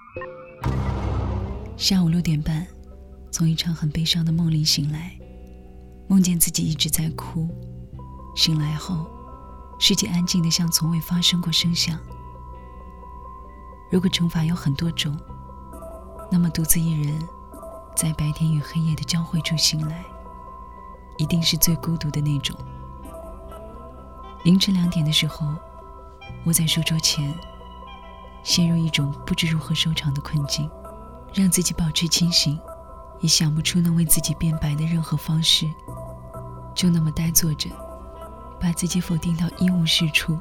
下午6点半，从一场很悲伤的梦里醒来，梦见自己一直在哭。醒来后，世界安静得像从未发生过声响。如果惩罚有很多种，那么独自一人在白天与黑夜的交汇处醒来，一定是最孤独的那种。凌晨2点的时候，窝在书桌前，陷入一种不知如何收场的困境，让自己保持清醒，也想不出能为自己辩白的任何方式，就那么呆坐着，把自己否定到一无是处。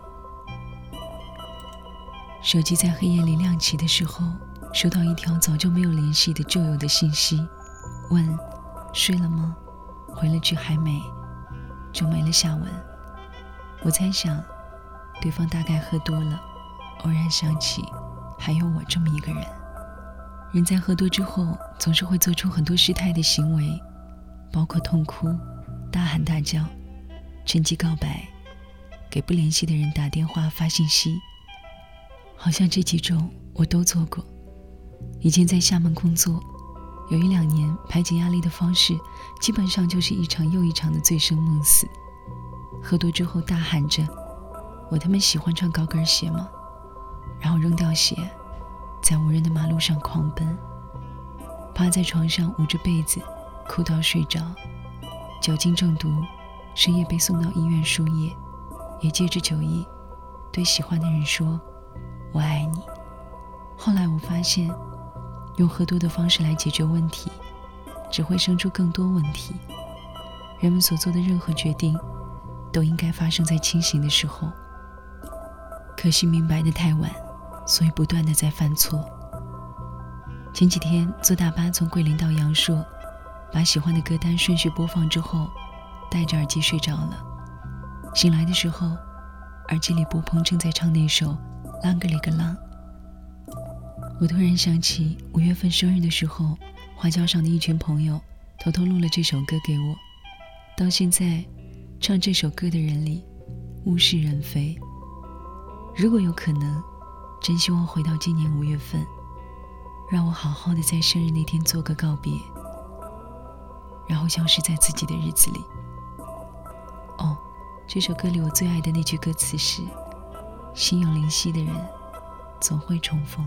手机在黑夜里亮起的时候，收到一条早就没有联系的旧友的信息，问睡了吗？回了句还没，就没了下文。我猜想对方大概喝多了，偶然想起还有我这么一个人。人在喝多之后总是会做出很多失态的行为，包括痛哭、大喊大叫、趁机告白、给不联系的人打电话发信息。好像这几种我都做过。以前在厦门工作，有1-2年排解压力的方式基本上就是一场又一场的醉生梦死。喝多之后大喊着我他妈喜欢穿高跟鞋吗？然后扔掉鞋，在无人的马路上狂奔，趴在床上捂着被子哭到睡着，酒精中毒，深夜被送到医院输液，也借着酒意对喜欢的人说我爱你。后来我发现，用喝多的方式来解决问题，只会生出更多问题。人们所做的任何决定，都应该发生在清醒的时候。可惜明白得太晚，所以不断地在犯错。前几天坐大巴从桂林到阳朔，把喜欢的歌单顺序播放之后，戴着耳机睡着了。醒来的时候，耳机里波鹏正在唱那首《啷个里个啷》。我突然想起5月份生日的时候，花轿上的一群朋友偷偷录了这首歌给我。到现在，唱这首歌的人里物是人非。如果有可能，真希望回到今年5月份，让我好好的在生日那天做个告别，然后消失在自己的日子里。哦，这首歌里我最爱的那句歌词是心有灵犀的人总会重逢。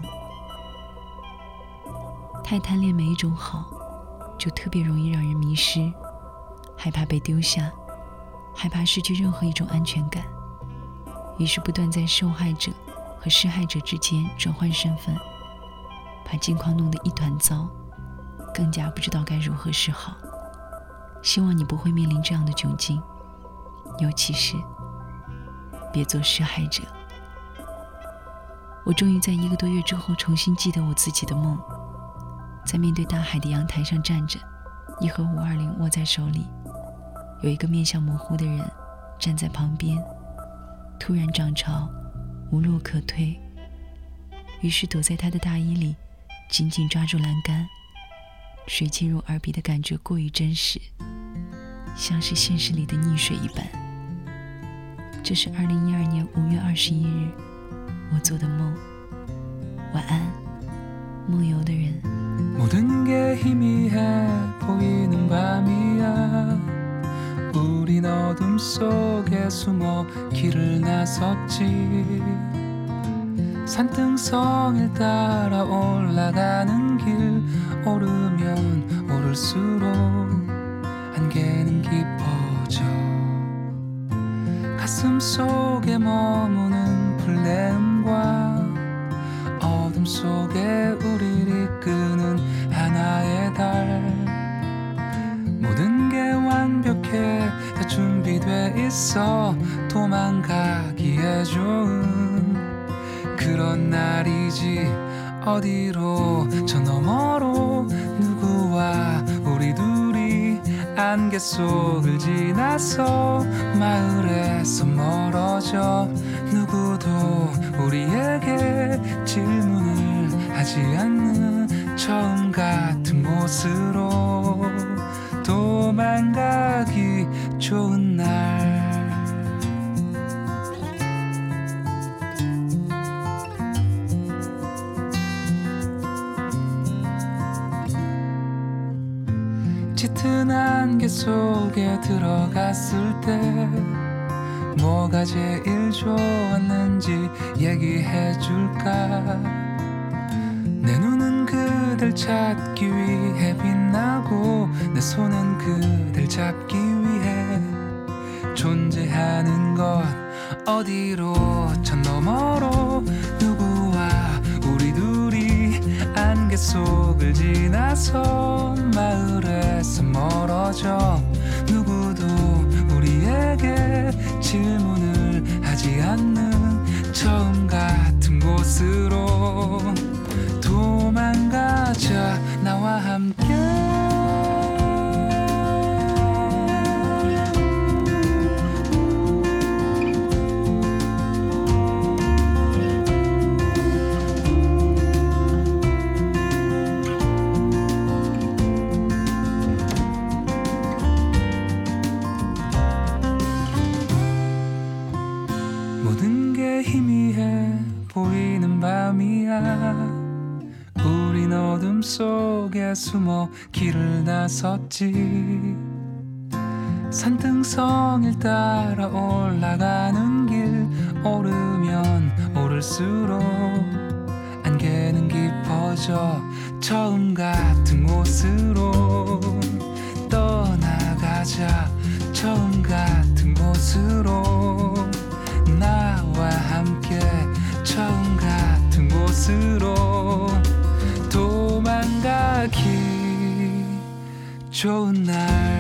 太贪恋每一种好，就特别容易让人迷失，害怕被丢下，害怕失去任何一种安全感，于是不断在受害者和施害者之间转换身份，把境况弄得一团糟，更加不知道该如何是好。希望你不会面临这样的窘境，尤其是别做施害者。我终于在1个多月之后重新记得我自己的梦，在面对大海的阳台上站着，一盒520握在手里，有一个面相模糊的人站在旁边，突然涨潮，无路可退，于是躲在他的大衣里，紧紧抓住栏杆。水进入耳鼻的感觉过于真实，像是现实里的溺水一般。这是2012年5月21日我做的梦。晚安，梦游的人。 모든 게 희미해 보이는 밤이야. 우린 어둠 속에 숨어 길을 나섰지. 산등성을 따라 올라가는 길, 오르면 오를수록 안개는 깊어져. 가슴 속에 머무는 불내음과 어둠 속에 우리를 이끄는 하나의 달. 모든 게 완벽해 다 준비돼 있어 도망가기에 좋은 그런 날이지. 어디로 저 너머로 누구와 우리 둘이 안개 속을 지나서 마을에서 멀어져. 누구도 우리에게 질문을 하지 않는 처음 같은 곳으로 도망가기 좋은 날. 짙은 안개 속에 들어갔을 때 뭐가 제일 좋았는지 얘기해줄까. 내 눈은 그댈 찾기 위해 빛나고 내 손은 그댈 잡기 위해 존재하는 것. 어디로 저 너머로 누구와 우리 둘이 안개 속을 지나서 마을에서 멀어져. 누구도 우리에게 질문을 하지 않는 처음 같은 곳으로 도망가자 나와 함께. 모든 게 희미해 보이는 밤이야. 우린 어둠 속에 숨어 길을 나섰지. 산등성을 따라 올라가는 길. 오르면 오를수록 안개는 깊어져. 처음 같은 곳으로 떠나가자. 처음 같은 곳으로 나와 함께 처음 같은 곳으로 도망가기 좋은 날.